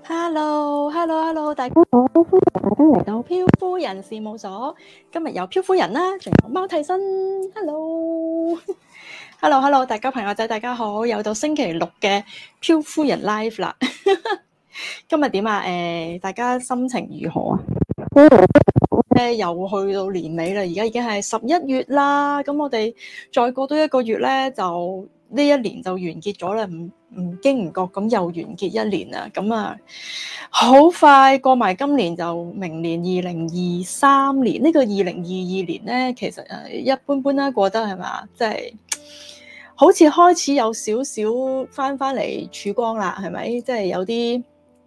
Hello，大家好，歡迎大家嚟到漂夫人事務所。今日有漂夫人啦，仲有貓替身。Hello，大家朋友仔，大家好，又到星期六嘅漂夫人 live 啦。今日點啊？大家心情如何啊？又去到年尾啦，而家已經係11月啦。咁我哋再過多一個月咧，就呢一年就完結咗啦。唔經唔覺咁又完結一年啦。咁啊，好快過埋今年就明年2023年。呢個2022年咧，其實一般般啦，過得係嘛，即係好似開始有少少翻嚟曙光啦，係咪？即係有啲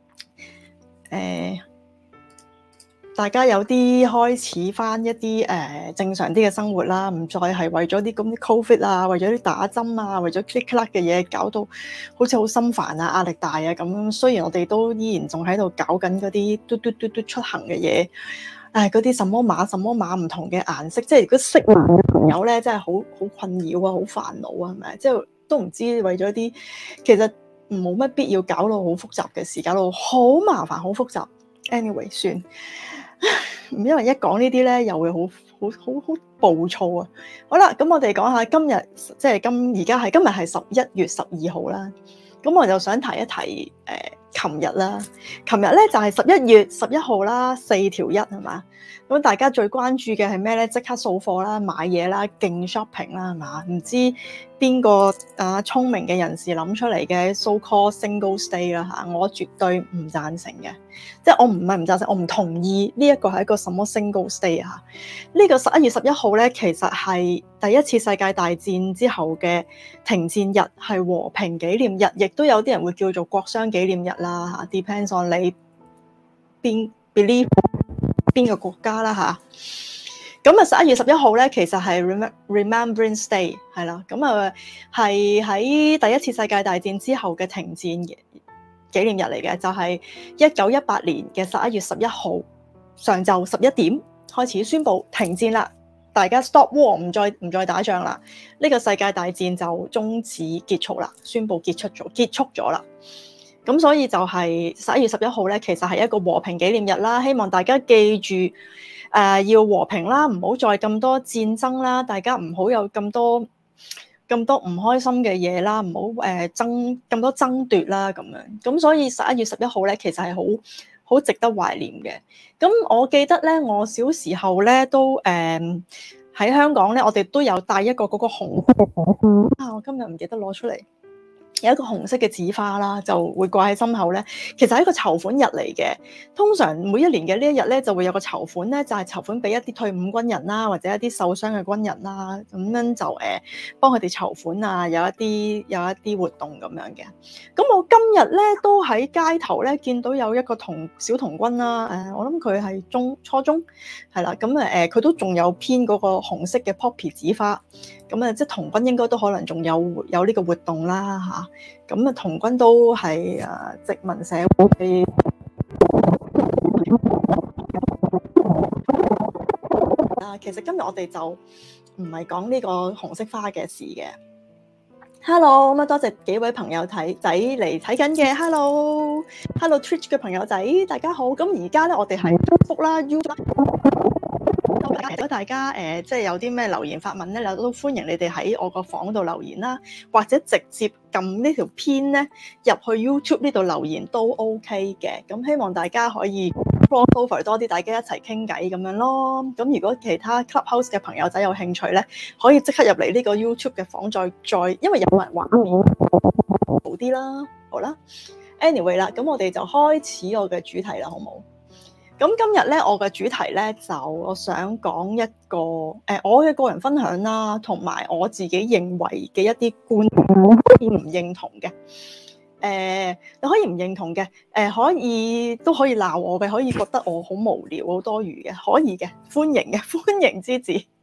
大家有啲開始翻一啲正常啲嘅生活啦，唔再係為咗啲咁啲 COVID 啊，為咗啲打針啊，為咗 click click 嘅嘢搞到好似好心煩啊、壓力大啊咁。雖然我哋都依然仲喺度搞緊嗰啲嘟出行嘅嘢，嗰啲什麼碼唔同嘅顏色，即係如果識碼嘅朋友咧，真係好困擾啊，好煩惱啊，係咪？即係都唔知為咗啲其實冇乜必要搞到好複雜嘅事，搞到好麻煩、好複雜。Anyway， 算。因為一講呢啲咧，又會好暴躁啊！好啦，咁我哋講下今日，即係今日係11月12號啦。咁我就想提一提琴日啦。琴日咧就係11月11號啦，4條1係嘛？咁大家最關注嘅係咩咧？即刻掃貨啦，買嘢啦，勁 shopping 啦，係嘛？唔知邊個聰明嘅人士諗出嚟嘅 so called Singles Day 啦嚇，我絕對唔贊成嘅，即係我唔係唔贊成，我唔同意呢一個係一個什麼 Singles Day 嚇。呢個11月11號咧，其實係第一次世界大戰之後嘅停戰日，係和平紀念日，亦都有啲人會叫做國殤紀念日啦嚇。Depends on 你believe 邊個國家啦嚇。咁啊11月11號咧，其實係 Remembrance Day 係啦。咁啊係喺第一次世界大戰之後嘅停戰紀念日嚟嘅，就係1918年嘅11月11號上晝11點開始宣布停戰啦，大家 stop war， 唔再打仗啦，呢個世界大戰就終止結束啦，宣布結束咗啦。咁所以就係11月11號咧，其實係一個和平紀念日啦，希望大家記住要和平啦，唔好再咁多戰爭啦，大家唔好有咁多唔開心嘅嘢啦，唔好咁多爭奪啦咁樣。咁所以11月11號咧，其實係好值得懷念嘅。咁我記得咧，我小時候咧都喺香港咧，我哋都有帶一個嗰個紅色嘅紙花啊！我今日唔記得攞出嚟。有一個紅色嘅紙花啦，就會掛喺心口咧。其實係一個籌款日嚟嘅。通常每一年嘅呢一日咧，就會有個籌款咧，就係籌款俾一啲退伍軍人啦，或者一啲受傷嘅軍人啦，咁樣就幫佢哋籌款啊，有一啲活動咁樣嘅。咁我今日咧都喺街頭咧見到有一個小童軍啦，我諗佢係初中係啦，咁佢都仲有編嗰個紅色嘅 poppy 紙花。咁即係童軍應該都可能仲有呢個活動啦嚇。咁童軍都係殖民社會嘅。其實今日我哋就唔係講呢個紅色花嘅事嘅。Hello，咁多謝幾位朋友仔嚟睇緊嘅。Hello Twitch 嘅朋友仔，大家好。咁而家咧，我哋係 Facebook 啦、YouTube 啦。如果大家即係有啲咩留言發問咧，都歡迎你哋喺我個房度留言啦，或者直接撳呢條片咧入去 YouTube 呢度留言都 OK 嘅。咁希望大家可以 crossover 多啲，大家一齊傾偈咁樣咯。咁如果其他 Clubhouse 嘅朋友仔有興趣咧，可以即刻入嚟呢個 YouTube 嘅房再，因為有埋畫面好啲啦。好啦 ，anyway 啦，咁我哋就開始我嘅主題啦，好冇？咁今日咧，我嘅主題咧就我想講一個我嘅個人分享啦，同埋我自己認為嘅一啲觀點，可以唔認同嘅。你可以唔認同嘅，都可以鬧我嘅，可以覺得我好無聊、好多餘嘅，可以嘅，歡迎之至。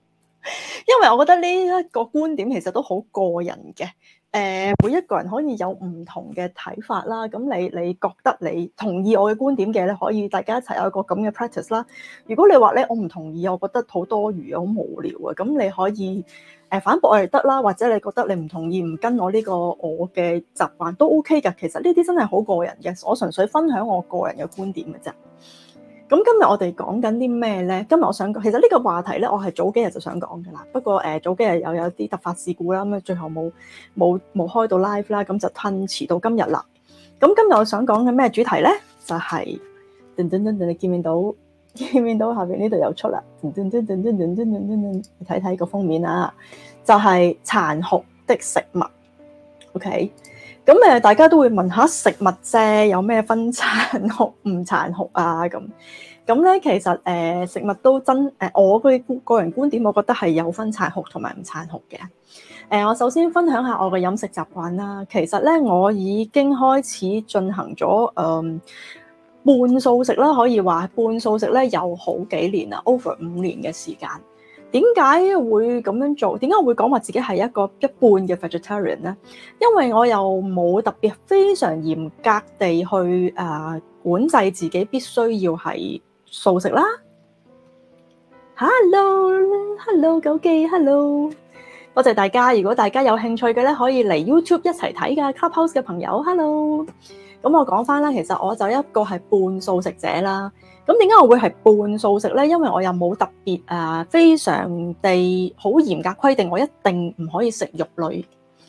因為我覺得呢一個觀點其實都好個人嘅。每一個人可以有唔同嘅睇法啦。咁你覺得你同意我嘅觀點嘅咧，可以大家一齊有一個咁嘅 practice 啦。如果你話咧我唔同意，我覺得好多餘啊，好無聊啊，咁你可以反駁我哋得啦，或者你覺得你唔同意唔跟我呢個我嘅習慣都 OK 嘅。其實呢啲真係好個人嘅，我純粹分享我個人嘅觀點嘅啫。咁今日我哋講緊啲咩咧？今日我想講，其實呢個話題咧，我係早幾日就想講㗎啦。不過早幾日又有啲突發事故啦，咁啊最後冇開到 live 啦，咁就吞遲到今日啦。咁今日我想講嘅咩主題咧？就係噔噔噔噔，你見唔見到下邊呢度有出啦？噔噔噔噔噔噔噔噔，你睇睇個封面啊，就係殘酷的食物。OK。咁大家都會問下食物啫，有咩分殘酷唔殘酷啊？咁咧，其實食物都真我嘅個人觀點，我覺得係有分殘酷同埋唔殘酷嘅。我首先分享下我嘅飲食習慣啦。其實咧，我已經開始進行咗半素食啦，可以話半素食咧有好幾年啦，over 5年嘅時間。點解會咁樣做？點解我會講話自己係一半嘅 vegetarian 咧？因為我又冇特別非常嚴格地去管制自己必須要係素食啦。Hello，九記 ，Hello， 多謝大家。如果大家有興趣嘅咧，可以嚟 YouTube 一齊睇㗎。Clubhouse 嘅朋友，Hello。咁我講翻啦，其實我就一個係半素食者啦。咁點解我會係半素食咧？因為我又冇特別非常地好嚴格規定，我一定唔可以食肉類。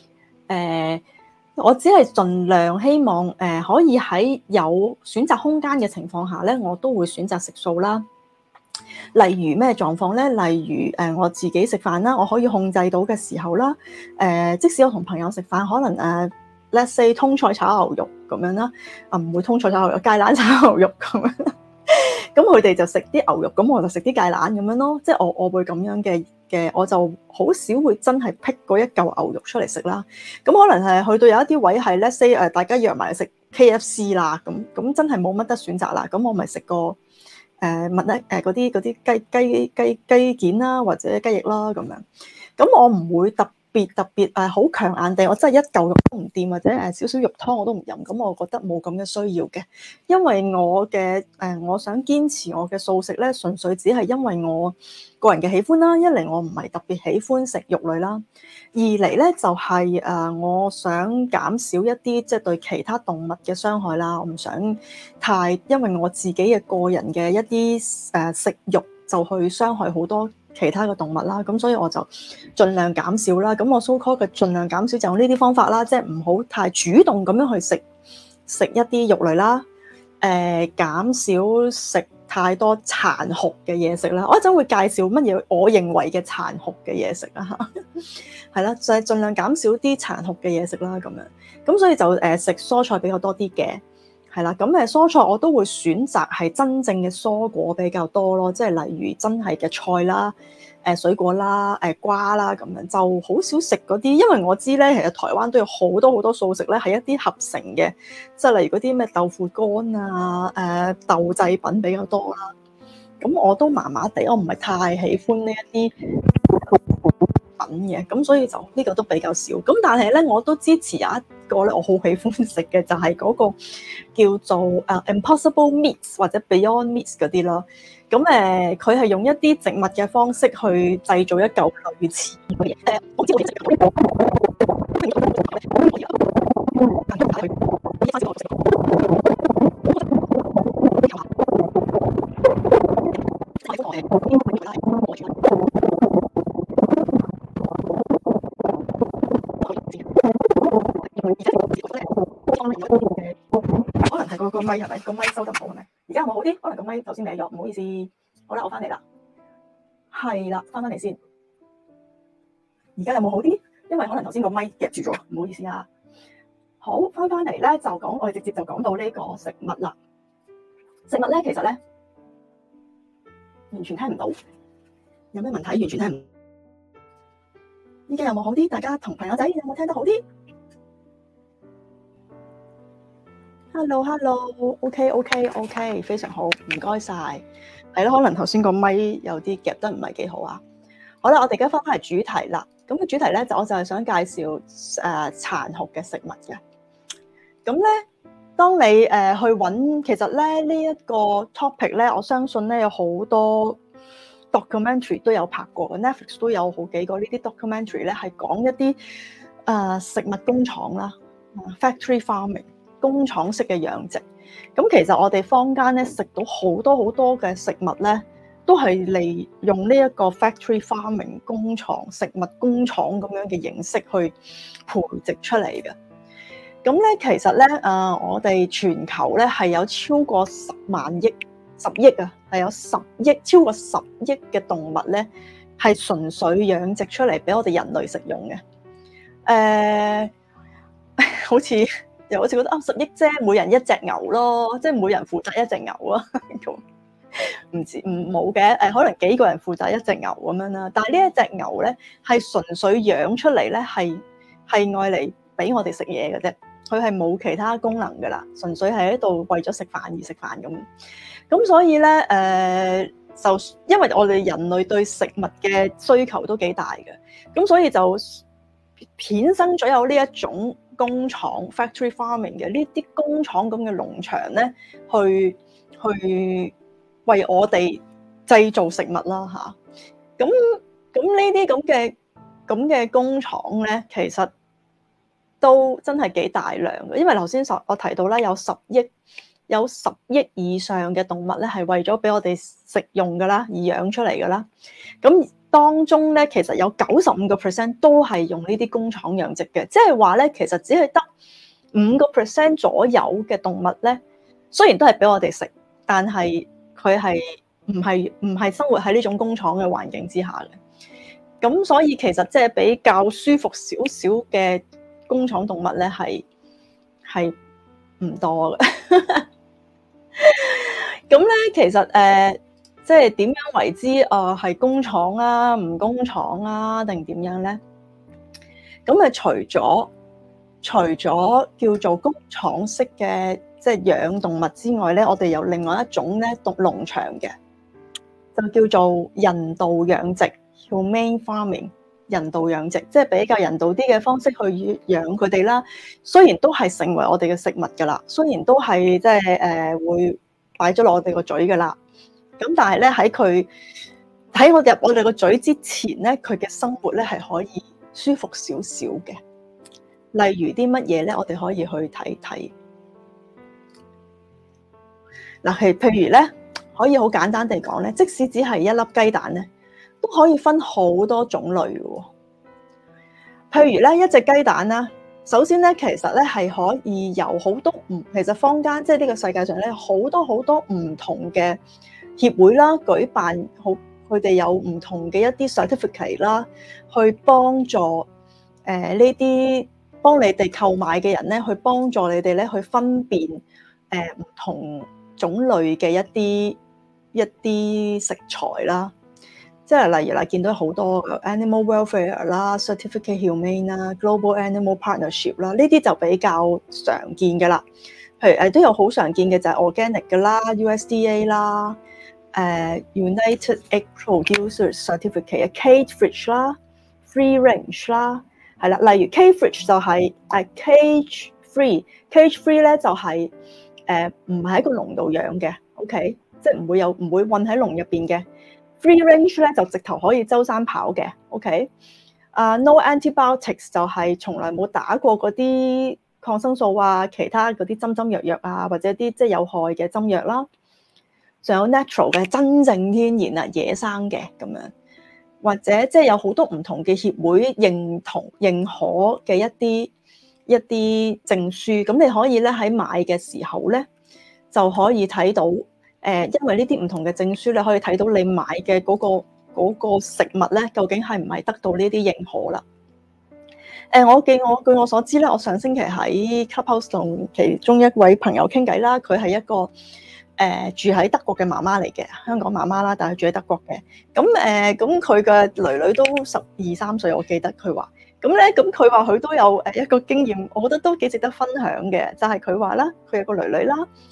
我只係盡量希望可以喺有選擇空間嘅情況下咧，我都會選擇食素啦。例如咩狀況咧？例如我自己食飯啦，我可以控制到嘅時候啦。即使我同朋友食飯，可能let's say 通菜炒牛肉咁樣啦，唔會通菜炒牛肉，芥蘭炒牛肉咁樣。咁佢哋就食啲牛肉，咁我就食啲芥蘭咁樣咯。即係我會咁樣嘅，我就好少會真係剔嗰一嚿牛肉出嚟食啦。咁可能係去到有一啲位係 let's say 大家約埋食 KFC 啦，咁真係冇乜得選擇啦。咁我咪食個嗰啲雞件啦，或者雞翼啦咁樣。咁我唔會特別好強硬地，我真係一嚿肉都唔掂，或者少少肉湯我都唔飲。咁我覺得冇咁嘅需要嘅，因為我想堅持我嘅素食咧，純粹只係因為我個人嘅喜歡啦。一嚟我唔係特別喜歡食肉類啦，二嚟咧就係我想減少一啲即係對其他動物嘅傷害啦。我唔想太因為我自己嘅個人嘅一啲食肉就去傷害好多其他嘅動物啦，咁所以我就盡量減少啦。咁我 so call 嘅盡量減少就用呢啲方法啦，即係唔好太主動咁樣去食一啲肉類啦。減少食太多殘酷嘅嘢食啦。我一陣會介紹乜嘢我認為嘅殘酷嘅嘢食啦，係啦，就係盡量減少啲殘酷嘅嘢食啦。咁樣咁所以就食蔬菜比較多啲嘅。係啦，咁蔬菜我都會選擇係真正嘅蔬果比較多咯，即係例如真係嘅菜啦、水果啦、瓜啦咁樣，就好少食嗰啲，因為我知咧，其實台灣都有好多素食咧，係一啲合成嘅，即係例如嗰啲咩豆腐乾啊、豆製品比較多啦。咁我都麻麻地，我唔係太喜歡呢一啲品嘅，咁所以就呢個都比較少。咁但係咧，我都支持有一個咧，我好喜歡食嘅就係嗰個叫做Impossible Meats 或者 Beyond Meats 嗰啲咯。咁佢係用一啲植物嘅方式去製造一嚿類似嘅嘢。我知道可能係個咪係咪個咪收得唔好係咪？而家有冇好啲？可能個咪頭先歪咗，唔好意思。好啦，我翻嚟啦，係啦，翻嚟先。而家有冇好啲？因為可能頭先個咪夾住咗，唔好意思啊。好，翻嚟咧就講，我哋直接就講到呢個食物啦。食物咧其實咧完全聽唔到，有咩問題？完全聽唔到。依家有冇好啲？大家同朋友仔有冇聽得好啲？Hello，OK，非常好，唔該晒。係咯，可能頭先個咪有啲夾得唔係幾好啊。 好啦，我哋而家翻返嚟主題啦。咁個主題咧，我就係想介紹殘酷嘅食物嘅。咁咧，當你去揾，其實咧呢一個 topic 咧，我相信咧有好多 documentary 都有拍過嘅 ，Netflix 都有好幾個呢啲 documentary 咧，係講一啲食物工廠啦，factory farming 工廠式嘅養殖。咁其實我哋坊間咧食到好多嘅食物咧，都係利用呢一個 factory farming 工廠食物工廠咁樣嘅形式去培植出嚟嘅。咁咧其實咧我哋全球咧係有超過10億啊，係有超過10億嘅動物咧係純粹養殖出嚟俾我哋人類食用嘅。好似覺得10億啫，每人一隻牛咯，即係每人負責一隻牛啊。冇嘅，可能幾個人負責一隻牛咁樣啦。但係呢一隻牛咧係純粹養出嚟咧，係愛嚟俾我哋食嘢嘅啫。佢係冇其他功能噶啦，純粹係喺度為咗食飯而食飯咁。咁所以咧就因為我哋人類對食物嘅需求都幾大嘅，咁所以就衍生咗有呢一種工廠 factory farming 嘅呢啲工廠咁嘅農場咧，去為我哋製造食物啦嚇。咁呢啲咁嘅工廠咧，其實都真係幾大量嘅，因為頭先我提到啦，有10億以上嘅動物咧，係為咗俾我哋食用噶啦，而養出嚟噶啦。咁當中咧，其實有95% 都係用呢啲工廠養殖嘅，即係話咧，其實只係得5% 左右嘅動物咧，雖然都係俾我哋食，但係佢係唔係生活喺呢種工廠嘅環境之下嘅。咁所以其實即係比較舒服少少嘅工廠動物咧，係唔多嘅。咁咧，其實即係點樣為之係工廠啊，唔工廠啊，定點樣咧？咁除咗叫做工廠式嘅即係養動物之外咧，我哋有另外一種咧農場嘅，就叫做人道養殖 （humane farming）。人道養殖即係比較人道啲嘅方式去養佢哋啦。雖然都係成為我哋嘅食物㗎啦，雖然都係即係會擺咗落我哋個嘴㗎啦。咁但係咧喺我入我哋個嘴之前咧，佢嘅生活咧係可以舒服少少嘅。例如啲乜嘢咧，我哋可以去睇睇。嗱，譬如咧，可以好簡單地講咧，即使只係一粒雞蛋咧，都可以分好多種類嘅。譬如咧，一隻雞蛋啦，首先咧，其實咧係可以由好多其實坊間即係呢個世界上咧好多唔同嘅協會啦，舉辦佢哋有唔同嘅一啲 certificate 啦，去幫助呢啲幫你哋購買嘅人咧，去幫助你哋咧去分辨唔同種類嘅一啲食材啦。即係例如啦，見到好多 animal welfare 啦、certificate humane 啦、global animal partnership 啦，呢啲就比較常見嘅啦。譬如都有好常見嘅就係 organic 嘅啦、USDA 啦、United Egg Producers Certificate、cage free 啦、free range 啦，係啦。例如 cage free 就係cage free 咧就係唔係喺個籠度養嘅 ，OK， 即係唔會韞喺籠入邊嘅。Free range 咧就直頭可以周山跑嘅 ，OK？ No antibiotics 就係從來冇打過嗰啲抗生素啊，其他嗰啲針藥啊，或者啲即係有害嘅針藥啦。仲有 natural 嘅真正天然啊，野生嘅咁樣，或者即係有好多唔同嘅協會認可嘅一啲證書，咁你可以咧喺買嘅時候咧就可以睇到。因為呢啲唔同嘅證書咧，可以睇到你買嘅嗰個食物咧，究竟係唔係得到呢啲認可啦？據我所知咧，我上星期喺 Clubhouse 同其中一位朋友傾偈啦，佢係一個住喺德國嘅媽媽嚟嘅，香港媽媽啦，但係住喺德國嘅。咁佢嘅囡囡都12、13歲，我記得佢話。咁佢話佢都有一個經驗，我覺得都幾值得分享嘅，就係佢話啦，佢有個囡囡啦。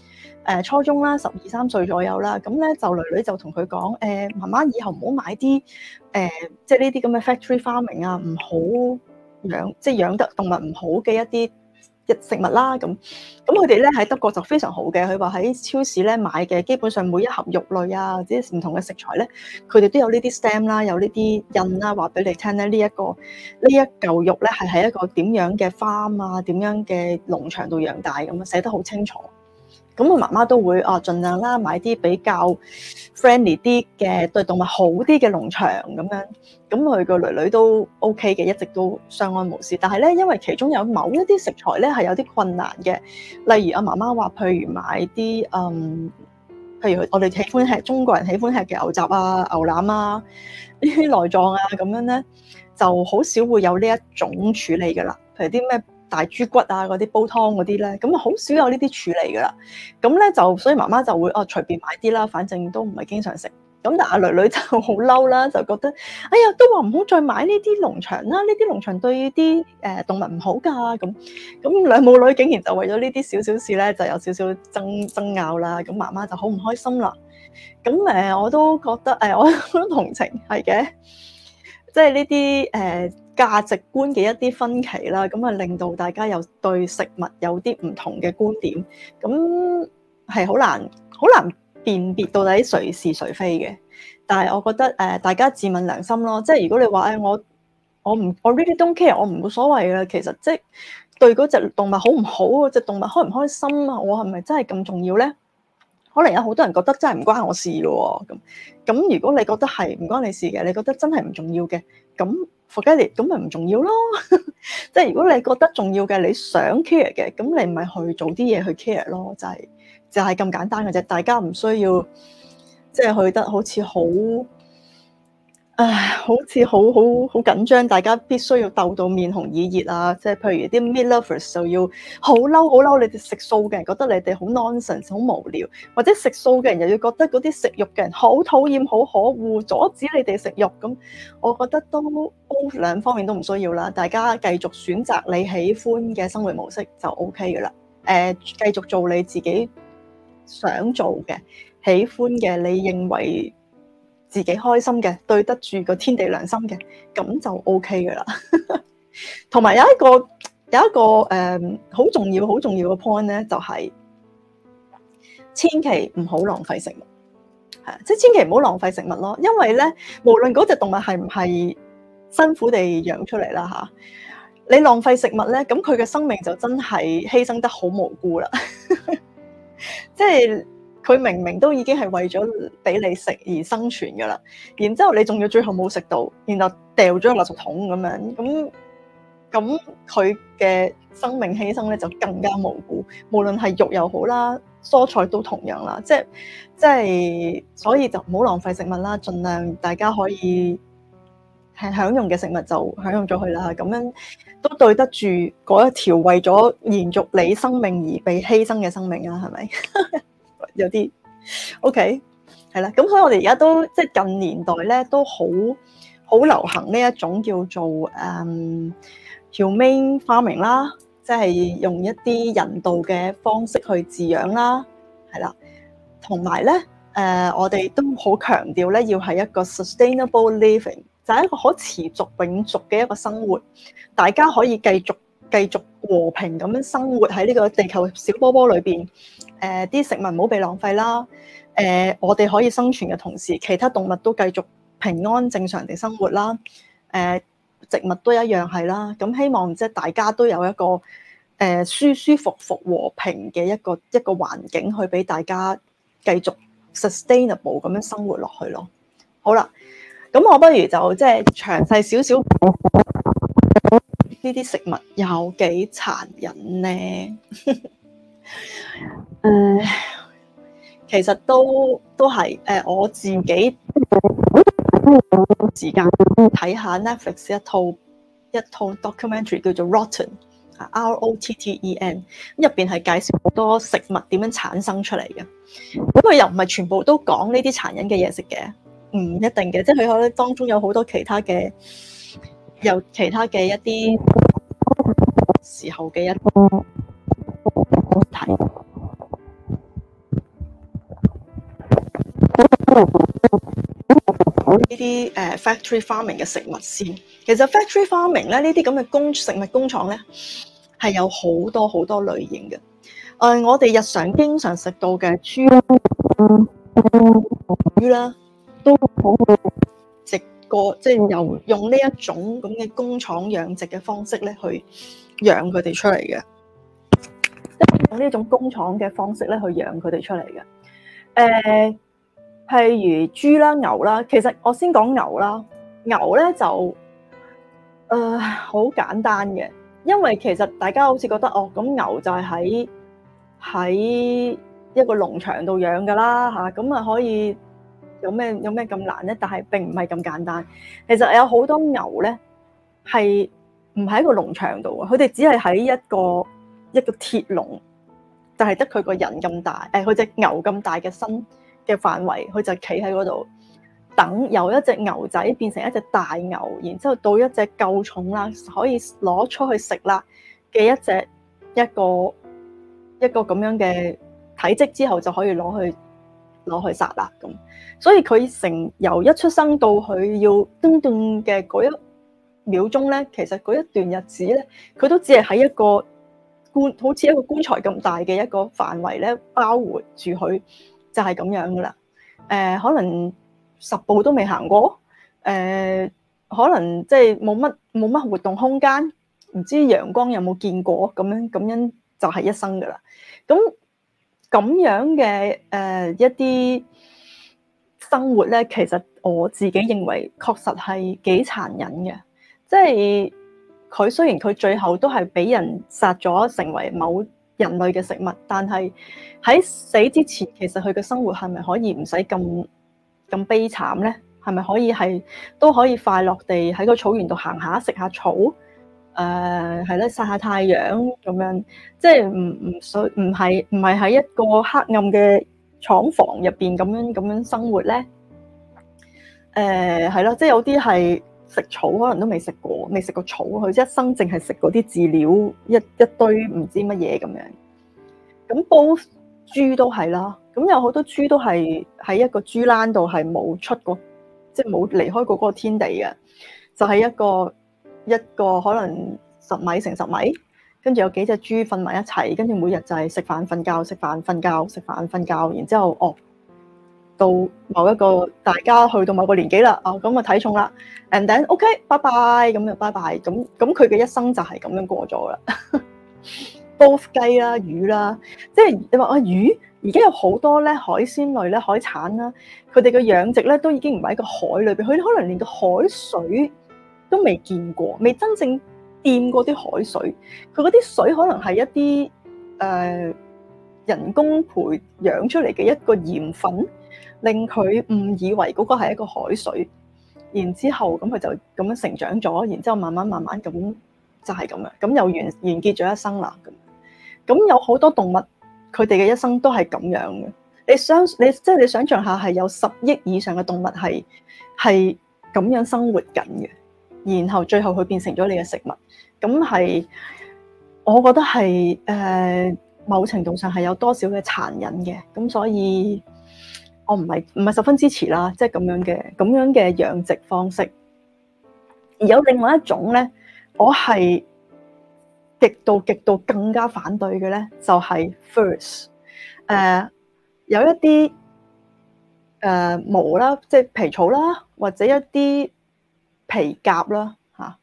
初中啦，12、13歲左右啦，咁咧就女女就同佢講媽媽以後唔好買啲即係呢啲咁嘅 factory farming 啊，唔好養即係養得動物唔好嘅一啲食物啦。咁佢哋咧喺德國就非常好嘅，佢話喺超市咧買嘅基本上每一盒肉類啊，或者唔同嘅食材咧，佢哋都有呢啲 stamp 啦，有呢啲印啦，話俾你聽咧呢一嚿肉咧係喺一個點樣嘅 farm 啊，點樣嘅農場度養大咁啊，寫得好清楚。咁我媽媽都會盡量啦買啲比較 friendly 啲嘅對動物好啲嘅農場咁樣，咁佢個女女都 OK 嘅，一直都相安無事。但係咧，因為其中有某一啲食材咧係有啲困難嘅，例如阿媽媽話，譬如買啲譬如我哋喜歡吃中國人喜歡吃嘅牛雜啊、牛腩啊、呢啲內臟啊咁樣咧，就好少會有呢一種處理噶啦。譬如啲咩大豬骨啊嗰啲煲湯嗰啲咧，咁啊好少有呢啲處理噶啦。咁咧就所以媽媽就會隨便買啲啦，反正都唔係經常食。咁但阿女女就好嬲啦，就覺得哎呀，都話唔好再買呢啲農場啦，呢啲農場對啲動物唔好㗎。咁兩母女竟然就為咗呢啲少少事咧，就有少少爭拗啦。咁媽媽就好唔開心啦。咁我都覺得我都同情係嘅，即係呢啲價值觀嘅一啲分歧啦，咁啊令到大家又對食物有啲唔同嘅觀點，咁係好難辨別到底誰是誰非嘅。但係我覺得大家自問良心咯，即係如果你話我 really don't care， 我唔冇所謂嘅，其實即係對嗰隻動物好唔好，隻動物開唔開心啊，我係咪真係咁重要咧？可能有好多人覺得真係唔關我事咯喎，咁如果你覺得係唔關你事嘅，你覺得真係唔重要嘅，咁 forget it，咁咪唔重要咯。即係如果你覺得重要嘅，你想 care 嘅，咁你咪去做啲嘢去 care 咯，就係咁簡單嘅啫。大家唔需要即係去得好似好緊張，大家必須要鬥到面紅耳熱啊！即係譬如啲 meat lovers 就要好嬲，你哋食素嘅人覺得你哋好 nonsense 好無聊，或者食素嘅人又要覺得嗰啲食肉嘅人好討厭好可惡，阻止你哋食肉咁。我覺得都兩方面都唔需要啦，大家繼續選擇你喜歡嘅生活模式就 OK 噶啦。繼續做你自己想做嘅、喜歡嘅，你認為自己開心嘅，對得住個天地良心嘅，咁就 OK 噶啦。同埋有一個好重要嘅 point 咧，就係千祈唔好浪費食物，係即係千祈唔好浪費食物咯。因為咧，無論嗰隻動物係唔係辛苦地養出嚟啦嚇，你浪費食物咧，咁佢嘅生命就真係犧牲得好無辜啦。即係。佢明明都已經係為咗俾你食而生存㗎啦，然之後你仲要最後冇食到，然後掉咗垃圾桶咁樣，咁佢嘅生命犧牲咧就更加無辜。無論係肉又好啦，蔬菜都同樣啦，即係所以就唔好浪費食物啦，盡量大家可以係享用嘅食物就享用咗佢啦，咁樣都對得住嗰一條為咗延續你生命而被犧牲嘅生命啊，係咪？有啲 OK 係啦，咁所以我哋而家都即係近年代咧都好流行呢一種叫做humane farming 啦，即係用一啲人道嘅方式去飼養啦，係啦，同埋咧我哋都好強調咧要係一個 sustainable living，就係一個可持續永續嘅一個生活，大家可以繼續和平咁樣生活喺呢個地球小波波裏邊。啲食物唔好被浪費啦。我哋可以生存嘅同時，其他動物都繼續平安正常地生活啦。植物都一樣係啦。咁希望即係大家都有一個舒舒服服和平嘅一個環境，去俾大家繼續 sustainable 咁樣生活落去咯。好啦，咁我不如就即係詳細少少呢啲食物有幾殘忍呢？其實都係我自己時間睇下 Netflix 一套 documentary 叫做 Rotten，ROTTEN， 入邊係介紹好多食物點樣產生出嚟嘅。咁佢又唔係全部都講呢啲殘忍嘅嘢食嘅，唔一定嘅，即係佢可能當中有好多其他嘅一啲時候嘅一個題。 呢啲factory farming 嘅食物先。其實 factory farming 咧，呢啲咁嘅食物工廠咧，係有好多好多類型嘅。我哋日常經常食到嘅豬啦、魚啦，都好食過，即係用呢一種咁嘅工廠養殖嘅方式咧，去養佢哋出嚟嘅。用呢種工廠嘅方式咧，去養佢哋出嚟嘅。譬如豬啦、牛啦，其實我先講牛啦。牛咧就好簡單嘅，因為其實大家好似覺得咁牛就係喺一個農場度養噶啦嚇，咁啊可以有咩咁難咧？但係並唔係咁簡單。其實有好多牛咧係唔喺個農場度啊，佢哋只係喺一個鐵籠，就係得佢個人咁大，佢隻牛咁大嘅身嘅範圍，佢就企喺嗰度等由一隻牛仔變成一隻大牛，然之後到一隻夠重啦，可以攞出去食啦嘅一個咁樣嘅體積之後，就可以攞去殺啦咁。所以佢由一出生到佢要叮叮嘅嗰一秒鐘咧，其實嗰一段日子咧，佢都只係喺一個好似一個棺材咁大嘅一個範圍咧，包圍住佢。就係咁樣噶啦，可能10步都未行過，可能即係冇乜活動空間，唔知陽光有冇見過，咁樣就係一生噶啦。咁樣嘅一啲生活咧，其實我自己認為確實係幾殘忍嘅，即係佢雖然佢最後都係俾人殺咗，成為某人類嘅食物，但係喺死之前，其實佢嘅生活係咪可以唔使咁悲慘咧？係咪可以都可以快樂地喺個草原度行下，食下草，係咧，曬下太陽咁樣，即係唔係喺一個黑暗嘅廠房入邊咁樣生活咧？係咯，即係有啲係食草可能都未食過草，佢一生淨係食嗰啲飼料，一堆唔知乜嘢咁樣。咁煲豬都係啦，咁有好多豬都係喺一個豬欄度係冇出過，即係冇離開過嗰個天地嘅，就係一個可能10米乘10米，跟住有幾隻豬瞓埋一齊，跟住每日就係食飯瞓覺，食飯瞓覺，食飯瞓覺，然之後到某一個大家去到某個年紀啦，咁啊體重啦 ，and then OK，拜拜，咁就拜拜，咁佢嘅一生就係咁樣過咗啦。煲雞啦、魚啦，即係你話魚，而家有好多咧海鮮類咧、海產啦，佢哋嘅養殖咧都已經唔係喺個海裏邊，佢可能連個海水都未見過，未真正掂過啲海水，佢嗰啲水可能係一啲人工培養出嚟嘅一個鹽分，令佢誤以為嗰個係一個海水，然之後咁佢就咁樣成長咗，然之後慢慢咁就係咁樣，咁又完結咗一生啦。咁有好多動物，佢哋嘅一生都係咁樣嘅。你想象下，係有10億以上嘅動物係咁樣生活緊嘅，然後最後佢變成咗你嘅食物。咁係，我覺得係某程度上係有多少嘅殘忍嘅。咁所以我唔係十分支持啦，即係咁樣嘅養殖方式。而有另外一種咧，我係極度更加反對嘅咧，就係 furs。有一啲毛啦，即係皮草啦，或者一啲皮革啦嚇。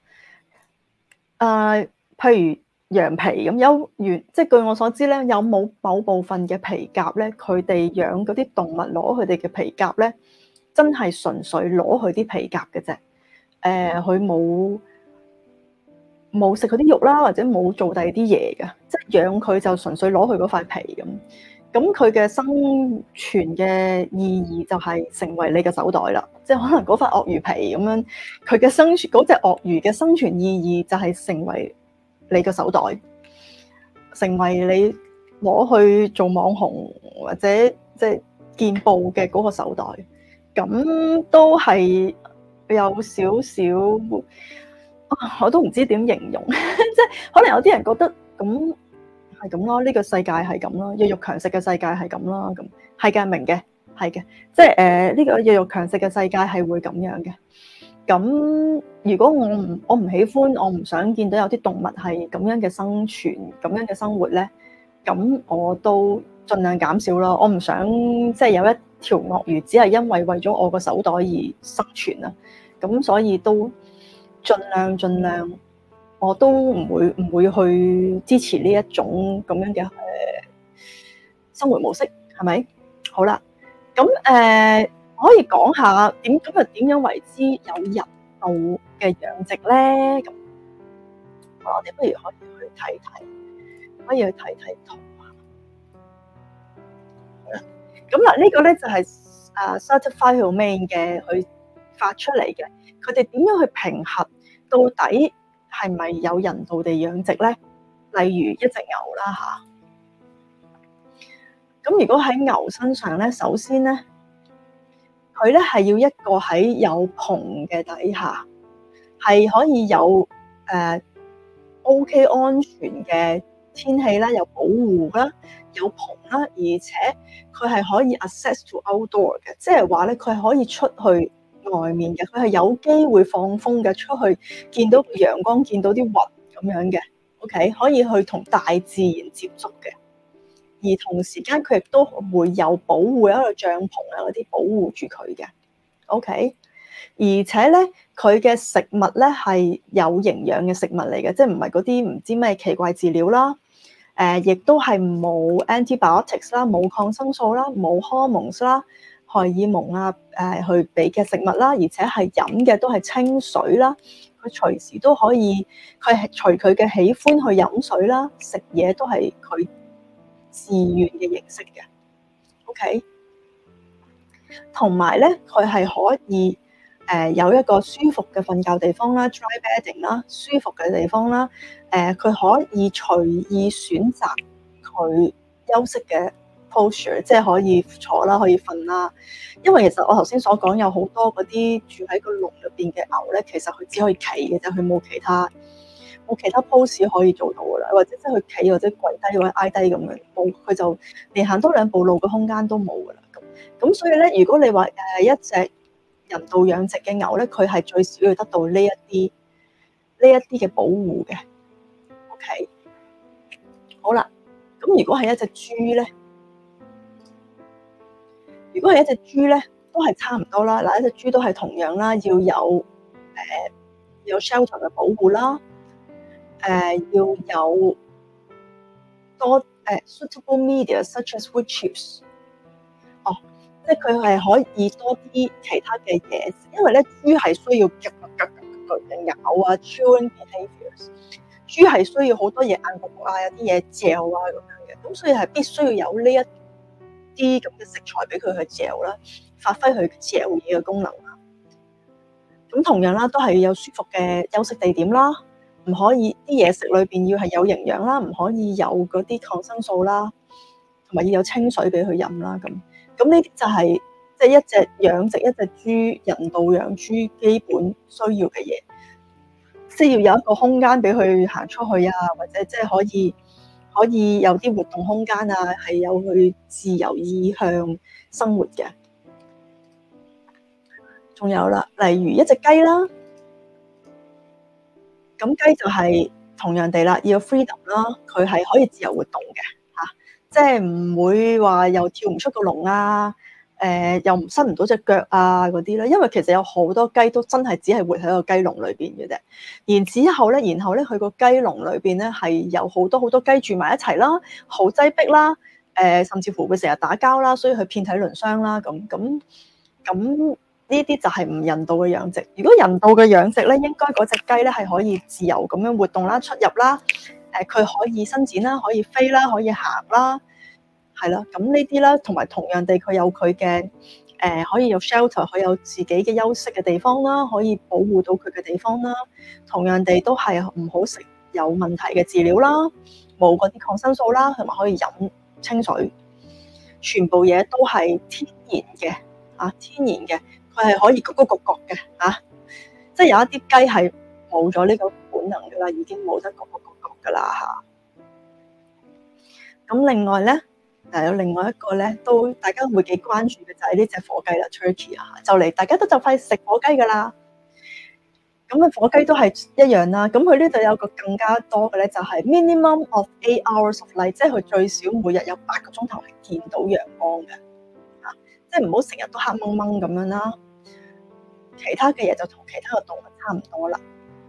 譬如羊皮咁，即係據我所知咧，有冇某部分嘅皮革咧，佢哋養嗰啲動物攞佢哋嘅皮革咧，真係純粹攞佢啲皮革嘅啫。佢冇食佢啲肉啦，或者冇做第二啲嘢嘅，即係養佢就純粹攞佢嗰塊皮咁。咁佢嘅生存嘅意義就係成為你嘅手袋啦。即係可能嗰塊鱷魚皮咁樣，佢嘅生存嗰隻鱷魚嘅生存意義就係成為你嘅手袋，成為你攞去做網紅或者即係見報嘅嗰個手袋。咁都係有少少。我都唔知點形容，即係可能有啲人覺得咁係咁咯，呢個世界係咁咯，弱肉強食嘅世界係咁咯，咁係嘅，明嘅。 係嘅，即係呢個弱肉強食嘅世界係會咁樣嘅。咁如果我唔喜歡，我唔想見到有啲動物係咁樣嘅生存、咁樣嘅生活咧，咁我都盡量減少咯。我唔想即係有一條鱷魚只係因為咗我個手袋而生存啊。咁所以都盡量，我都唔會去支持呢一種咁樣嘅生活模式，係咪？好啦，咁可以講下今日點樣為之有人道嘅養殖咧？咁我哋不如可以去睇睇圖啊。咁嗱，呢個咧就係Certified Humane嘅佢發出嚟嘅，佢哋點樣去評核到底係咪有人道地養殖咧？例如一隻牛啦嚇，咁如果喺牛身上咧，首先咧，佢咧係要一個喺有棚嘅底下，係可以有OK 安全嘅天氣啦，有保護啦，有棚啦，而且佢係可以 access to outdoor 嘅，即係話咧，佢係可以出去外面嘅，佢係有機會放風嘅，出去見到陽光，見到啲雲咁樣嘅。OK， 可以去同大自然接觸嘅，而同時間佢亦都會有保護，有一個帳篷啊嗰啲保護住佢嘅。OK， 而且咧佢嘅食物咧係有營養嘅食物嚟嘅，即係唔係嗰啲唔知咩奇怪飼料啦。亦都係冇 antibiotics 啦，冇抗生素啦，冇 hormones 啦，荷爾蒙啊去俾嘅食物啦，而且係飲嘅都係清水啦。佢隨時都可以，佢係隨佢嘅喜歡去飲水啦，食嘢都係佢自願嘅形式嘅。OK，同埋咧，佢係可以有一個舒服嘅瞓覺地方啦 ，dry bedding 啦，舒服嘅地方啦。佢可以隨意選擇佢休息嘅 posture，即係可以坐啦，可以瞓啦。因為其實我頭先所講有好多嗰啲住喺個籠入邊嘅牛咧，其實佢只可以企嘅啫，佢冇其他 pose 可以做到噶啦，或者即係佢企或者跪低或者挨低咁樣，冇佢就連行多兩步路嘅空間都冇噶啦。咁所以咧，如果你話一隻人道養殖嘅牛咧，佢係最少要得到呢一啲嘅保護嘅。OK， 好啦，咁如果係一隻豬咧，都係差唔多啦。嗱，一隻豬都係同樣啦，要有 shelter 嘅保護啦，要有多suitable media such as wood chips。哦，即係佢係可以多啲其他嘅嘢，因為咧豬係需要嘅咬啊 chewing behaviors。豬係需要好多嘢硬焗啊，有啲嘢嚼啊咁樣嘅，咁所以係必須要有呢一啲咁嘅食材俾佢去嚼啦，發揮佢嚼嘢嘅功能啦。咁同樣啦，都係要有舒服嘅休息地點啦，唔可以啲嘢食裏邊要係有營養啦，唔可以有嗰啲抗生素啦，同埋要有清水俾佢飲啦。咁呢啲就係即係一隻養殖一隻豬人道養豬基本需要嘅嘢。即係要有一個空間俾佢行出去啊，或者即係可以有啲活動空間啊，係有佢自由意向生活嘅。仲有啦，例如一隻雞啦，咁雞就係同樣地啦，要 freedom 啦，佢係可以自由活動嘅嚇，即係唔會話又跳唔出個籠啊。又伸唔到隻腳啊嗰啲咧，因為其實有好多雞都真係只係活喺個雞籠裏邊嘅啫。然後咧，佢個雞籠裏邊咧係有好多雞住埋一齊啦，好擠迫啦，甚至乎會成日打交啦，所以佢遍體鱗傷啦。咁呢啲就係唔人道嘅養殖。如果人道嘅養殖咧，應該嗰隻雞咧係可以自由咁樣活動啦、出入啦，佢可以伸展啦、可以飛啦、可以行啦。係啦，咁呢啲啦，同埋同樣地，佢有佢嘅可以有 shelter，佢有自己嘅休息嘅地方啦，可以保護到佢嘅地方啦。同樣地都係唔好食有問題嘅飼料啦，冇嗰啲抗生素啦，同埋可以飲清水，全部嘢都係天然嘅嚇，天然嘅，佢係可以焗嘅嚇，即係有一啲雞係冇咗呢個本能噶啦，已經冇得焗噶啦嚇。咁另外咧。 但係有另外一個咧，都大家會幾關注嘅就係呢隻火雞啦 ，turkey 啊，就嚟大家都就快食火雞噶啦。咁啊，火雞都係一樣啦。咁佢呢度有個更加多嘅咧，就係 minimum of 8 hours of light，即係佢最少每日有8個鐘頭係見到陽光嘅。即係唔好成日都黑掹掹咁樣啦。其他嘅嘢就同其他嘅動物差唔多啦。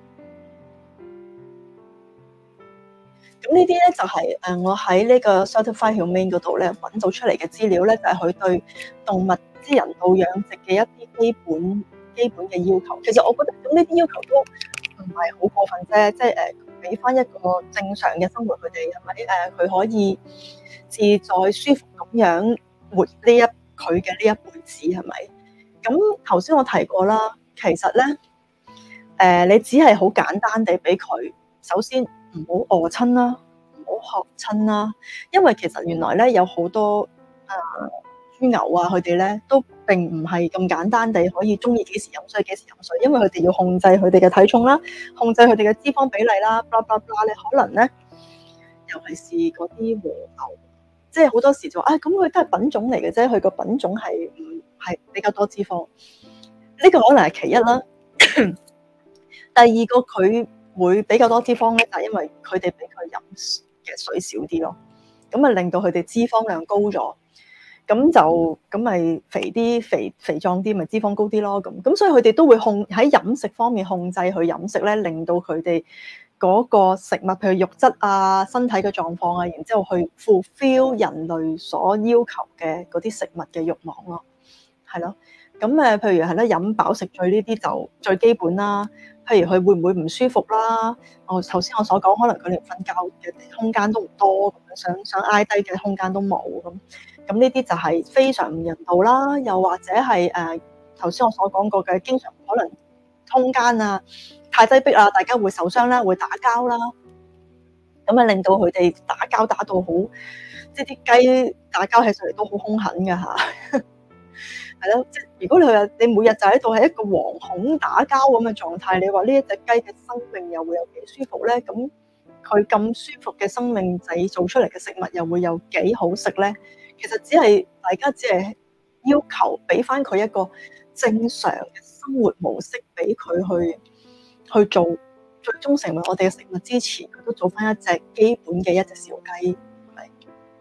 咁呢啲咧就係我喺呢個 Certified Humane 嗰度咧揾到出嚟嘅資料咧，就係佢對動物即係人道養殖嘅一啲基本嘅要求。其實我覺得咁呢啲要求都唔係好過分啫，即係俾翻一個正常嘅生活佢哋，係咪佢可以自在舒服咁樣活佢嘅呢一輩子係咪？咁頭先我提過啦，其實咧你只係好簡單地俾佢，首先唔好餓親啦，唔好渴親啦，因為其實原來咧有好多豬牛啊，佢哋咧都並唔係咁簡單地可以中意幾時飲水幾時飲水，因為佢哋要控制佢哋嘅體重啦，控制佢哋嘅脂肪比例啦，blah blah blah 咧，可能咧尤其是嗰啲和牛，即係好多時就咁佢都係品種嚟嘅啫，佢個品種係比較多脂肪，呢個可能係其一啦。第二個佢會比較多脂肪咧，就係因為佢哋俾佢飲嘅水少啲咯，咁啊令到佢哋脂肪量高咗，咁咪肥啲肥壯啲，咪脂肪高啲咯。咁所以佢哋都會喺飲食方面控制佢飲食咧，令到佢哋嗰個食物譬如肉質啊、身體嘅狀況啊，然之後去 fulfill 人類所要求嘅嗰啲食物嘅慾望咯，係咯。咁譬如係咧飲飽食醉呢啲就最基本啦。譬如佢會唔會唔舒服啦？頭先我所講，可能佢連瞓覺嘅空間都唔多，想挨低嘅空間都冇咁。咁呢啲就係非常唔人道啦。又或者係頭先我所講過嘅，經常可能空間啊太擠迫啦，大家會受傷啦，會打交啦。咁啊令到佢哋打交打到好，即係啲雞打交起上嚟都好兇狠㗎嚇。係咯，即係如果你每日就喺度係一個惶恐打交咁嘅狀態，你話呢一隻雞嘅生命又會有幾舒服咧？咁佢咁舒服嘅生命製造出嚟嘅食物又會有幾好食咧？其實大家只係要求俾翻佢一個正常嘅生活模式，俾佢去做，最終成為我哋嘅食物之前，佢都做翻一隻基本嘅一隻小雞，係咪？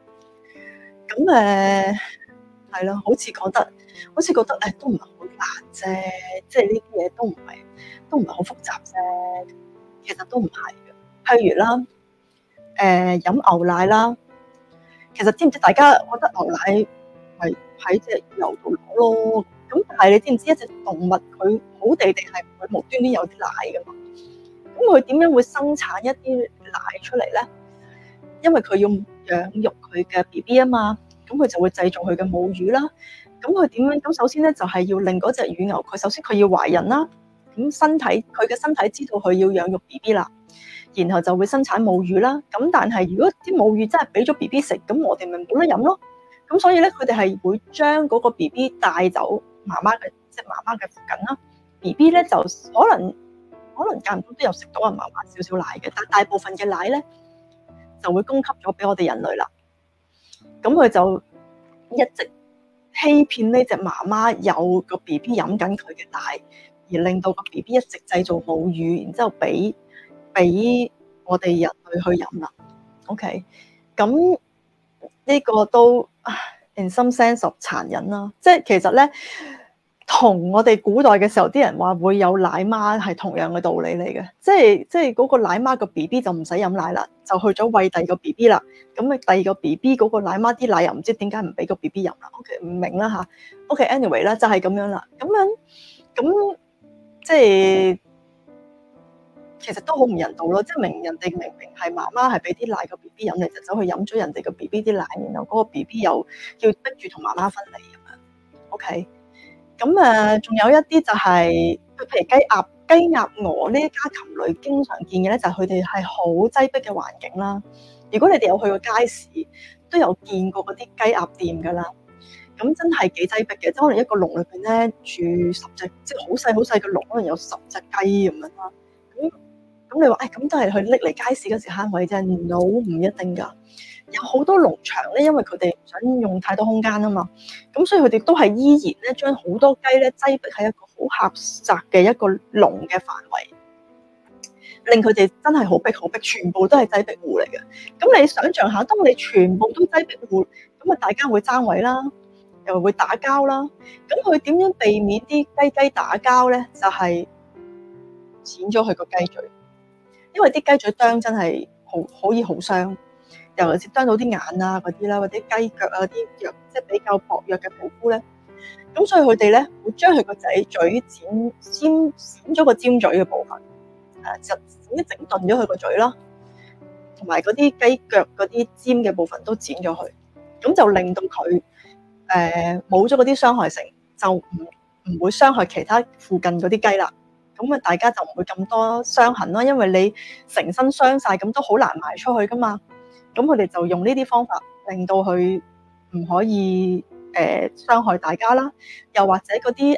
咁係咯，好似覺得都唔係好難啫，即係呢啲嘢都唔係好複雜啫。其實都唔係嘅。譬如啦，飲牛奶啦，其實知唔知大家覺得牛奶係喺隻牛度攞咯？咁但係你知唔知一隻動物佢好地地係唔會無端端有啲奶㗎嘛？咁佢點樣會生產一啲奶出嚟咧？因為佢要養育佢嘅 BB 啊嘛。咁佢就會製造佢嘅母乳啦。咁佢點樣？咁首先咧就係要令嗰隻乳牛，佢首先佢要懷孕啦。咁佢嘅身體知道佢要養育 BB 啦，然後就會生產母乳啦。咁但係如果啲母乳真係俾咗 BB 食，咁我哋咪冇得飲咯。咁所以咧，佢哋係會將嗰個 BB 帶走媽媽嘅附近啦。BB 咧就可能間唔中都有食到媽媽少少奶嘅，但大部分嘅奶咧就會供給咗俾我哋人類啦。咁佢就一直欺騙呢隻媽媽有個 BB 飲緊佢嘅奶，而令到個 BB 一直製造母乳，然之後俾我哋人類去飲啦。OK，咁呢個都 in some sense of 殘忍啦。即係其實咧，同我哋古代嘅時候啲人話會有奶媽係同樣嘅道理嚟嘅。即係嗰個奶媽個 BB 就唔使飲奶啦，就去咗餵第二個 BB 啦。咁啊，第二個 BB 嗰個奶媽啲奶又唔知點解唔俾個 BB 飲啦。OK， 唔明啦嚇。OK，anyway 啦，就係咁樣啦。咁即係其實都好唔人道咯。即係人哋明明係媽媽係俾啲奶個 BB 飲，你就走去飲咗人哋個 BB 啲奶，然後嗰個 BB 又要逼住同媽媽分離咁樣。OK，咁仲有一啲就係譬如雞鴨鵝呢一家禽類經常見嘅咧，就係佢哋係好擠迫嘅環境啦。如果你哋有去過街市，都有見過嗰啲雞鴨店噶啦。咁真係幾擠迫嘅，即係可能一個籠裏邊咧住10隻，即係好細嘅籠，可能有10隻雞咁樣啦。咁咁你話咁都係去拎嚟街市嗰時慳位啫？No，唔一定㗎。有好多農場咧，因為佢哋唔想用太多空間啊嘛，咁所以佢哋都係依然咧將好多雞咧擠迫喺一個好狹窄嘅一個籠嘅範圍，令佢哋真係好逼好逼，全部都係擠迫戶嚟嘅。咁你想象下，當你全部都擠迫戶，咁啊大家會爭位啦，又會打交啦。咁佢點樣避免啲雞打交咧？就係剪咗佢個雞嘴，因為啲雞嘴啄真係可以好傷。尤其是啄到啲眼啊嗰啲啦，或者雞腳啊啲弱，即係比較薄弱嘅皮膚咧，咁所以佢哋咧會將佢個仔嘴剪咗個尖嘴嘅部分，就剪一整頓咗佢個嘴啦，同埋嗰啲雞腳嗰啲尖嘅部分都剪咗佢，咁就令到佢冇咗嗰啲傷害性，就唔會傷害其他附近嗰啲雞啦。咁啊，大家就唔會咁多傷痕咯，因為你成身傷晒，咁都好難賣出去噶嘛。咁佢哋就用呢啲方法，令到佢唔可以傷害大家啦。又或者嗰啲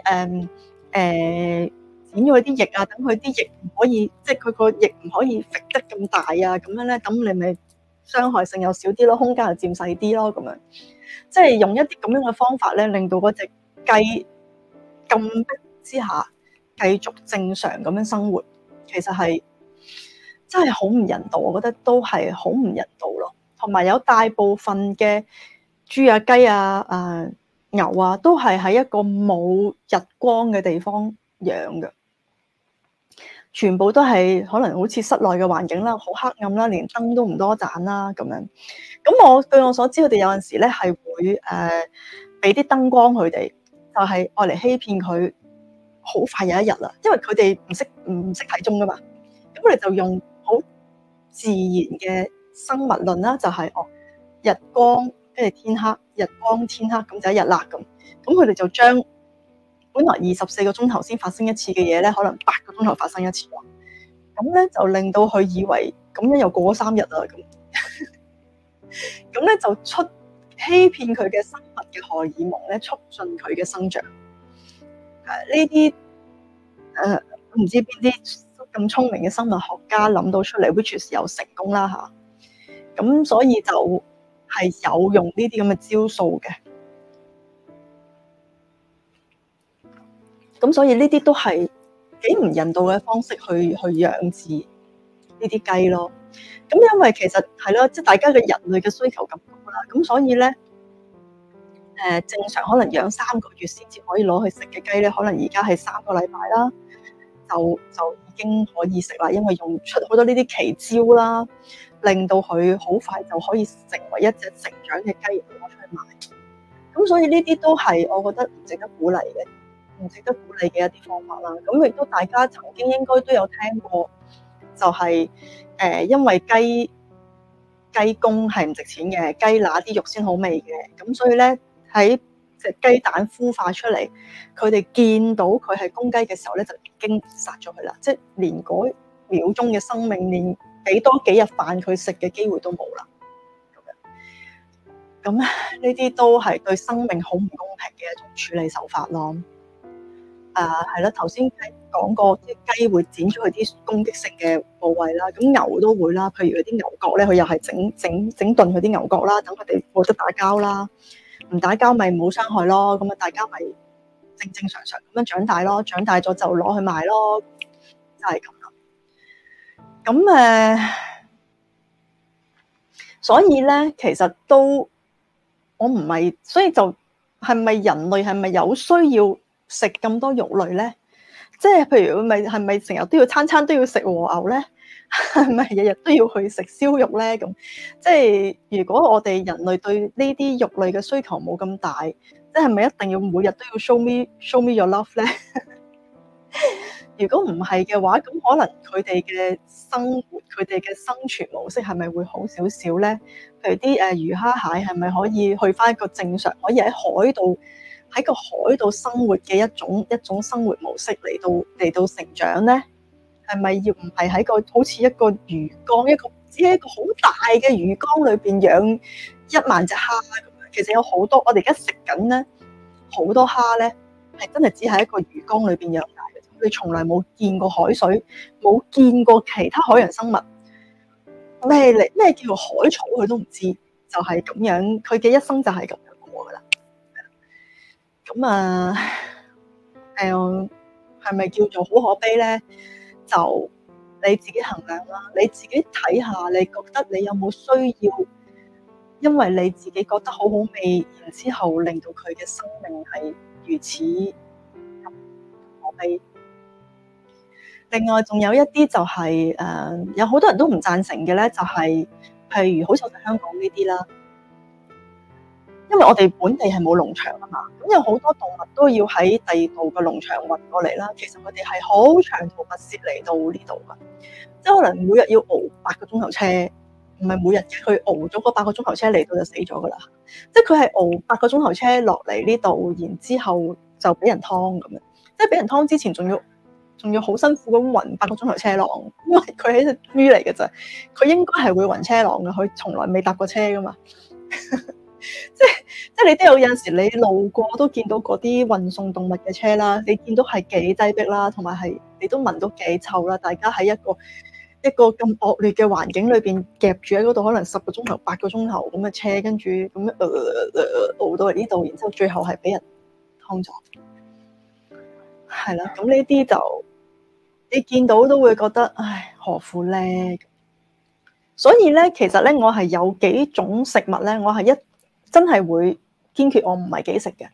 剪咗佢啲翼啊，等佢啲翼唔可以，即係佢個翼唔可以揈得咁大啊，咁樣咧，咁你咪傷害性又少啲咯，空間又佔細啲咯，咁樣即係用一啲咁樣嘅方法咧，令到嗰隻雞禁逼之下繼續正常咁樣生活，其實係真係好唔人道，我覺得都係好唔人道咯。同埋有大部分嘅豬啊、雞啊、牛啊，都係喺一個冇日光嘅地方養嘅，全部都係可能好似室內嘅環境啦，好黑暗啦，連燈都唔多盞啦咁樣。咁據我所知，佢哋有陣時咧係會俾啲燈光佢哋，就係愛嚟欺騙佢，好快有一日啦，因為佢哋唔識睇鐘噶嘛，咁佢哋就用好自然嘅生物論啦，就係日光跟住天黑，日光天黑咁就一日啦咁。咁佢哋就將本來24個鐘頭先發生一次嘅嘢咧，可能8個鐘頭發生一次咯。咁咧就令到佢以為咁樣又過咗3日啦咁。咁咧就欺騙佢嘅生物嘅荷爾蒙咧，促進佢嘅生長。呢啲唔知邊啲咁聰明嘅生物學家諗到出嚟 ，which is 有成功啦嚇。咁所以就係有用呢啲咁嘅招數嘅。咁所以呢啲都係幾唔人道嘅方式去養殖呢啲雞咯。咁因為其實係咯，即係大家嘅人類嘅需求咁高啦，咁所以咧正常可能養3個月先至可以攞去食嘅雞咧，可能而家係3個禮拜啦，就已經可以食啦，因為用出好多呢啲奇招啦，令到佢好快就可以成為一隻成長嘅雞攞出去賣。咁所以呢啲都係我覺得唔值得鼓勵嘅。唔值得鼓勵嘅一啲方法啦，咁亦都大家曾經應該都有聽過，就係因為雞公係唔值錢嘅，雞乸啲肉先好味嘅，咁所以咧喺隻雞蛋孵化出嚟，佢哋見到佢係公雞嘅時候咧，就已經殺咗佢啦，即係連嗰秒鐘嘅生命，連俾多幾日飯佢食嘅機會都冇啦。咁呢啲都係對生命好唔公平嘅一種處理手法咯。係啦，頭先講過啲雞會剪咗佢啲攻擊性嘅部位啦，咁牛都會啦，譬如嗰啲牛角咧，佢又係整頓佢啲牛角啦，等佢哋冇得打交啦，唔打交咪冇傷害咯，咁啊大家咪正常咁樣長大咯，長大咗就攞去賣咯，就係咁啦。咁所以咧其實都我唔係，所以就係咪人類係咪有需要食咁多肉類咧？即係譬如係咪成日都要餐餐都要食和牛咧？係咪日日都要去食燒肉咧？咁即係如果我哋人類對呢啲肉類嘅需求冇咁大，即係咪一定要每日都要 show me your love 咧？如果唔係嘅話，咁可能佢哋嘅生活、佢哋嘅生存模式係咪會好少少咧？譬如啲魚蝦蟹係咪可以去返一個正常，可以喺個海度生活嘅一種生活模式嚟到成長咧？係咪要唔係喺個好似一個魚缸，只係一個好大嘅魚缸裏邊養1萬隻蝦咁樣？其實有好多我哋而家食緊咧，好多蝦咧係真係只係一個魚缸裏邊養大嘅啫。 佢哋從來冇見過海水，冇見過其他海洋生物，咩叫做海草佢都唔知，就係咁樣，佢嘅一生就係咁樣過噶啦。咁啊，係咪叫做好可悲咧？就你自己衡量啦，你自己睇下，你覺得你有冇需要？因為你自己覺得好好味，然之後令到佢嘅生命係如此可悲。另外仲有一啲就係有好多人都唔贊成嘅咧，就係譬如好似我哋香港呢啲啦，因為我哋本地係冇農場啊嘛，咁有好多動物都要喺第二度嘅農場運過嚟啦。其實佢哋係好長途跋涉嚟到呢度噶，即係可能每日要熬8個鐘頭車，唔係每日嘅，佢熬咗嗰8個鐘頭車嚟到就死咗噶啦。即係佢係熬8個鐘頭車落嚟呢度，然之後就俾人劏咁樣，即係俾人劏之前仲要好辛苦咁暈8個鐘頭車浪，因為佢係隻豬嚟嘅啫，佢應該係會暈車浪嘅，佢從來未搭過車噶嘛。即係你都有陣時你路過都見到嗰啲運送動物嘅車啦，你見到係幾擠迫啦，同埋係你都聞到幾臭啦。大家喺一個咁惡劣嘅環境裏邊夾住喺嗰度，可能10個鐘頭、8個鐘頭咁嘅車，跟住咁樣熬到嚟呢度，然之後最後係俾人劏咗，係啦。咁呢啲就你見到都會覺得唉，何苦咧？所以咧，其實咧，我係有幾種食物咧，我係真係會堅決我唔係幾食嘅。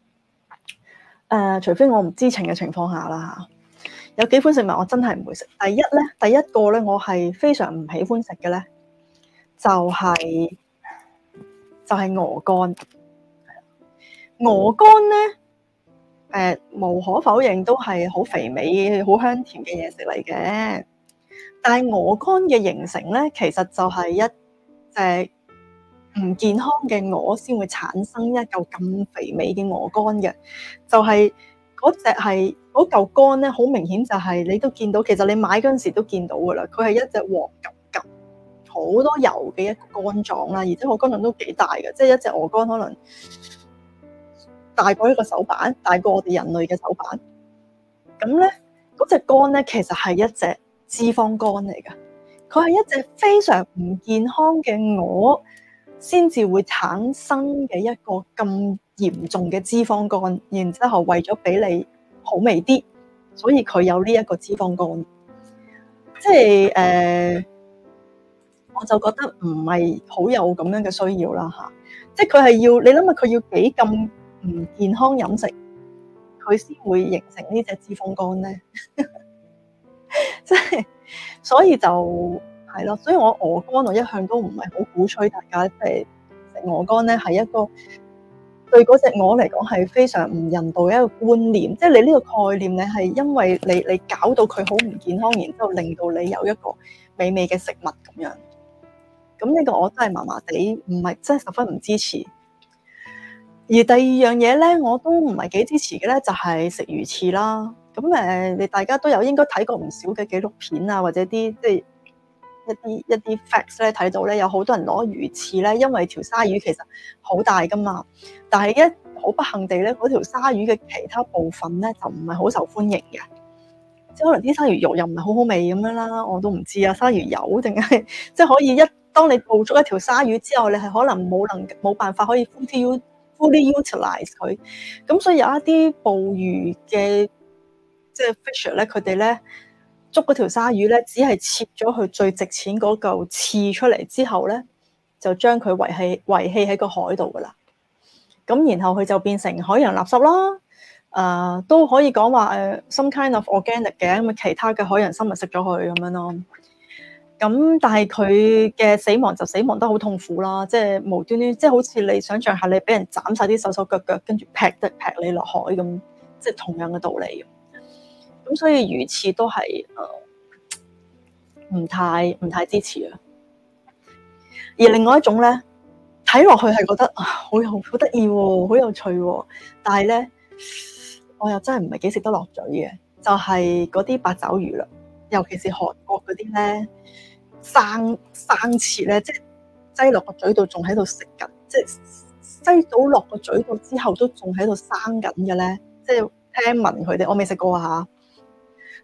除非我唔知情嘅情況下啦嚇。有幾款食物我真係唔會食。第一個咧，我係非常唔喜歡食嘅咧，就係鵝肝。鵝肝咧，無可否認都係好肥美、好香甜嘅嘢食嚟嘅。但係鵝肝嘅形成咧，其實就係一隻唔健康嘅鵝先會產生一嚿咁肥美嘅鵝肝嘅，就係嗰嚿肝咧，好明顯就係你都見到，其實你買嗰陣時都見到噶啦，佢係一隻黃金金、好多油嘅一個肝臟啦，而且個肝臟都幾大嘅，即係一隻鵝肝可能大過一個手板，大過我哋人類嘅手板。咁咧，嗰隻肝咧，其實係一隻脂肪肝嚟嘅，佢係一隻非常唔健康嘅鵝先至會產生嘅一個咁嚴重嘅脂肪肝，然之後為咗俾你好味啲，所以佢有呢一個脂肪肝。即係我就覺得唔係好有咁樣嘅需要啦嚇。即係佢係要你諗下，佢要幾咁唔健康飲食，佢先會形成呢隻脂肪肝咧。即係，所以就係咯，所以我鵝肝我一向都唔係好鼓吹大家即係食鵝肝咧，係一個對嗰隻鵝嚟講係非常唔人道嘅一個觀念。即係你呢個概念，你係因為你搞到佢好唔健康，然之後令到你有一個美味嘅食物咁樣。咁呢個我真係麻麻地，唔係真係十分唔支持。而第二樣嘢咧，我都唔係幾支持嘅咧，就係食魚翅啦。咁你大家都有應該睇過唔少嘅紀錄片啊，或者啲即係一啲 facts 咧，睇到咧有好多人攞魚翅咧，因為條鯊魚其實好大噶嘛，但係好不幸地咧，嗰條鯊魚嘅其他部分咧就唔係好受歡迎嘅，即係可能啲鯊魚肉又唔係好好味咁樣啦，我都唔知啊，鯊魚油定係即係可以當你捕捉一條鯊魚之後，你係可能冇辦法可以 fully utilize 佢，咁所以有一啲捕魚嘅。即係 fisher 咧，佢哋咧捉嗰條鯊魚咧，只係切咗佢最值錢嗰嚿刺出嚟之後咧，就將佢遺棄喺個海度噶啦。咁然後佢就變成海洋垃圾啦。都可以講話some kind of organic 嘅，咁其他嘅海洋生物食咗佢咁樣咯。咁但係佢嘅死亡就死亡得好痛苦啦，即係無端端，即係好似你想象下，你俾人斬晒啲手手腳腳，跟住劈你落海咁，即係同樣嘅道理。咁所以魚翅都係唔太支持啊。而另外一種咧，睇落去係覺得好得意喎，好有趣喎，但係咧我又真係唔係幾食得落嘴嘅，就係嗰啲八爪魚啦，尤其是韓國嗰啲咧生切咧，即係擠落個嘴度仲喺度食緊，即係擠到落個嘴度之後都仲喺度生緊嘅咧，即係聽聞佢哋，我未食過啊嚇。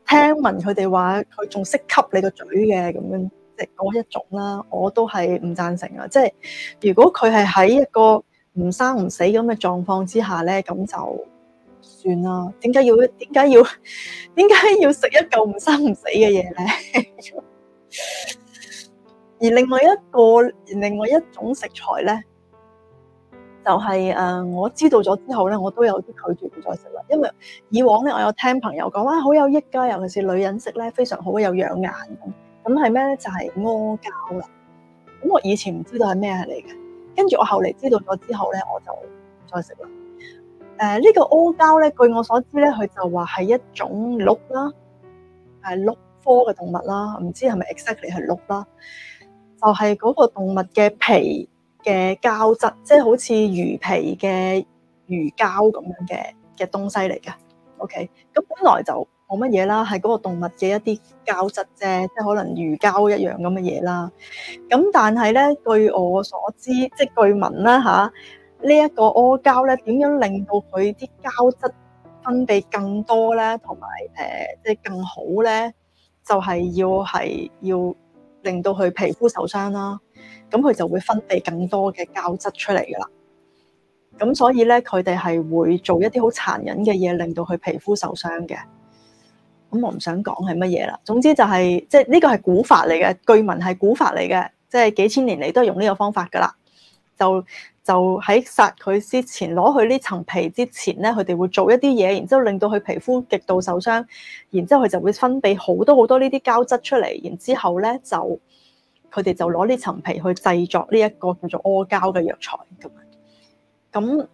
聽聞佢哋話佢仲識吸你個嘴嘅咁樣，即係嗰一種啦，我都係唔贊成啊！即係如果佢係喺一個唔生唔死咁嘅狀況之下咧，咁就算啦。點解要食一嚿唔生唔死嘅嘢咧？而另外一種食材咧，就係我知道咗之後咧，我都有啲拒絕唔再食啦。因為以往咧，我有聽朋友講話好有益㗎，尤其是女人食咧非常好，有養顏咁。咁係咩咧？就係阿膠啦。咁我以前唔知道係咩嚟嘅，跟住我後嚟知道咗之後咧，我就唔再食啦。呢個阿膠咧，據我所知咧，佢就話係一種鹿啦，係鹿科嘅動物啦，唔知係咪 exactly 係鹿啦。就係嗰個動物嘅皮嘅膠質，即係好似魚皮嘅魚膠咁樣嘅東西嚟嘅。OK，咁本來就冇乜嘢啦，係嗰個動物嘅一啲膠質啫，即係可能魚膠一樣咁嘅嘢啦。咁但係咧，據我所知，即係據聞啦嚇，呢一個阿膠咧點樣令到佢啲膠質分泌更多咧，同埋即係更好咧，就係要令到佢皮膚受傷啦，咁佢就會分泌更多嘅膠質出嚟噶啦。咁所以咧，佢哋係會做一啲好殘忍嘅嘢，令到佢皮膚受傷嘅。咁我唔想講係乜嘢啦。總之就係即係呢個係古法嚟嘅，據聞係古法嚟嘅，即係幾千年嚟都係用呢個方法噶啦。就喺殺佢之前，攞佢呢層皮之前咧，佢哋會做一啲嘢，然之後令到佢皮膚極度受傷，然之後佢就會分泌好多呢啲膠質出嚟，然之後咧就佢哋就攞呢層皮去製作呢一個叫做阿膠嘅藥材咁樣。咁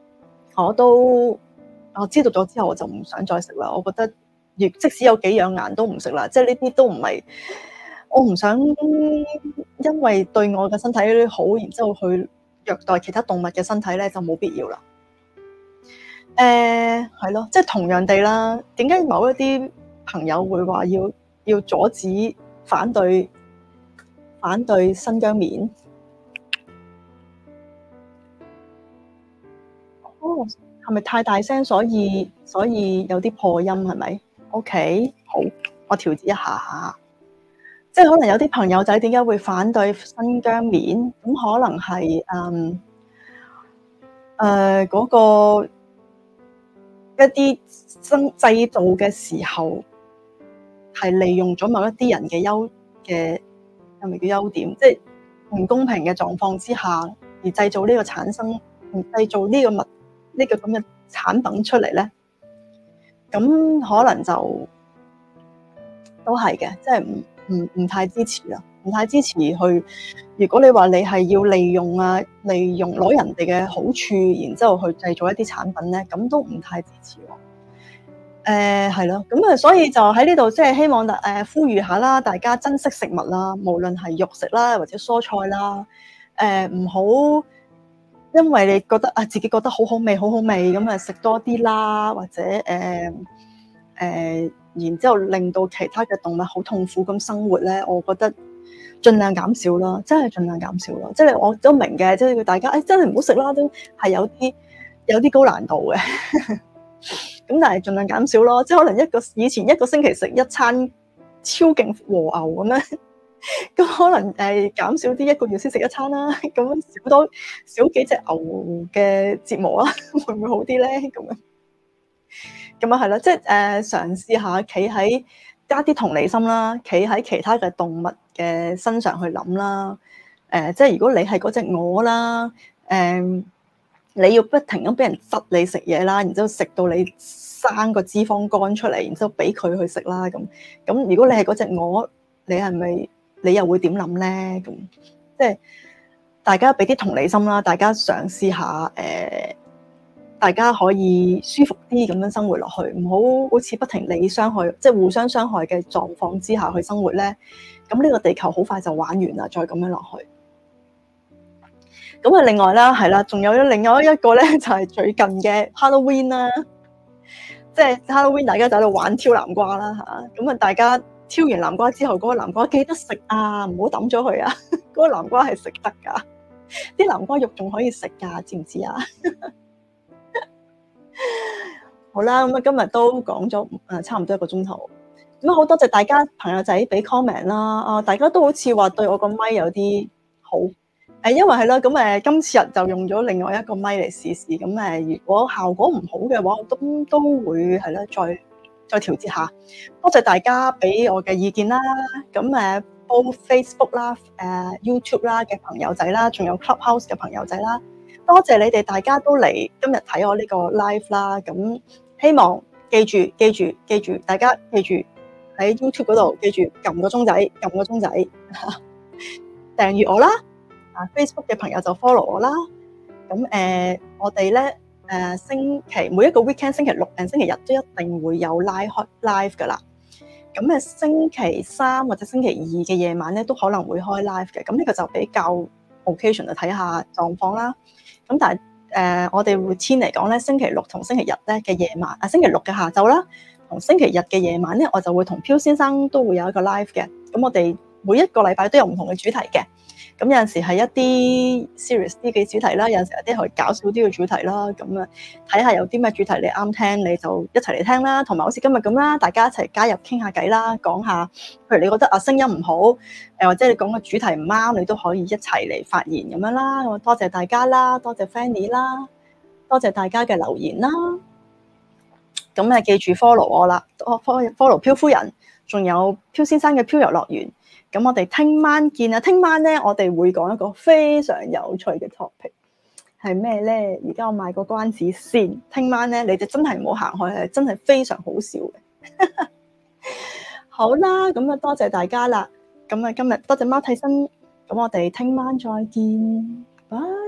我知道咗之後，我就唔想再食啦。我覺得即使有幾養顏都唔食啦，即係呢啲都唔係我唔想因為對我嘅身體好，然之後去虐待其他動物嘅身體咧，就冇必要啦。係咯，即係同樣地啦。點解某一啲朋友會話要阻止反對新疆棉？哦，係咪太大聲，所以有啲破音係咪 ？OK，好，我調節一下。即係可能有啲朋友仔點解會反對新疆棉？咁可能係嗰個一啲製造嘅時候係利用咗某一啲人嘅係咪叫優點？即係唔公平嘅狀況之下而製造呢個產生，製造呢個咁嘅產品出嚟咧，咁可能就都係嘅，即係唔太支持啦，唔太支持去。如果你話你係要利用攞人哋嘅好處，然之後去製造一啲產品咧，咁都唔太支持喎。係咯，咁啊，所以就喺呢度即係希望呼籲下啦，大家珍惜食物啦，無論係肉食啦或者蔬菜啦，唔好因為你覺得自己覺得好好味咁啊食多啲啦，或者然之後令到其他嘅動物好痛苦咁生活咧，我覺得盡量減少啦，真係盡量減少啦。即係我都明嘅，即係大家真係唔好食啦，都係有啲高難度嘅。咁但係盡量減少咯，即係可能以前一個星期食一餐超勁和牛咁樣，咁可能減少啲一個月先食一餐啦，咁少幾隻牛嘅折磨啊，會唔會好啲咧？咁啊係啦，即係嘗試下加啲同理心啦，企喺其他嘅動物嘅身上去諗啦。即係如果你係嗰隻鵝啦，你要不停咁俾人窒你食嘢啦，然之後食到你生個脂肪肝出嚟，然之後俾佢去食啦。咁如果你係嗰隻鵝，你又會點諗咧？咁即係大家俾啲同理心啦，大家嘗試下大家可以舒服啲咁樣生活落去，唔好似不停理傷害，即係互相傷害嘅狀況之下去生活咧。咁呢個地球好快就玩完啦，再咁樣落去。咁啊，另外啦，係啦，仲有另外一個咧，就係最近嘅 Halloween 啦，即係 Halloween 大家就喺度玩挑南瓜啦嚇。咁啊，大家挑完南瓜之後，嗰個南瓜記得食啊，唔好抌咗佢啊。嗰個南瓜係食得㗎，啲南瓜肉仲可以食㗎，知唔知啊？好啦，咁啊今日都講咗差唔多1個鐘頭， 咁好多謝大家朋友仔俾 comment 啦，啊，大家都好似話對我個咪有啲好，因為係啦，咁今次日就用咗另外一個咪嚟試試，咁如果效果唔好嘅話，我都會係啦，再調節下。多謝大家俾我嘅意見啦，咁both Facebook 啦、YouTube 啦嘅朋友仔啦，仲有 Clubhouse 嘅朋友仔啦，多謝你哋大家都嚟今日睇我呢個 live 啦，咁希望記住，大家記住。喺 YouTube 嗰度，記住撳個鐘仔，訂閱我啦。Facebook 嘅朋友就 follow 我啦。咁我哋咧星期每一個 weekend 星期六星期日都一定會有 live 噶啦。咁星期三或者星期二嘅夜晚咧都可能會開 live 嘅。咁呢個就比較 occasion 就睇下狀況啦。咁但係我哋 routine 嚟講咧，星期六同星期日咧嘅夜晚，星期六嘅下晝啦。同星期日嘅夜晚咧，我就會同漂先生都會有一個 live 嘅。咁我哋每一個禮拜都有唔同嘅主題嘅。咁有陣時係一啲 serious 啲嘅主題啦，有陣時有啲係搞笑啲嘅主題啦。咁睇下有啲咩主題你啱聽，你就一齊嚟聽啦。同埋好似今日咁啦，大家一齊加入傾下偈啦，講下，譬如你覺得聲音唔好，或者你講嘅主題唔啱，你都可以一齊嚟發言咁樣啦。咁多謝大家啦，多謝 Fanny 啦，多謝大家嘅留言啦。咁記住 follow 我啦，follow 漂夫人，仲有漂先生嘅漂遊樂園。咁我哋聽晚見啊！聽晚咧，我哋會講一個非常有趣嘅 topic，係咩咧？而家我賣個關子先。聽晚咧，你哋真係唔好行開，係真係非常好笑嘅。好啦，咁多謝大家啦。咁今日多謝貓替身，咁我哋聽晚再見，拜。